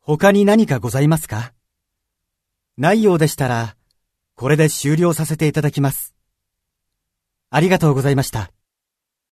他に何かございますか？ないようでしたら、これで終了させていただきます。ありがとうございました。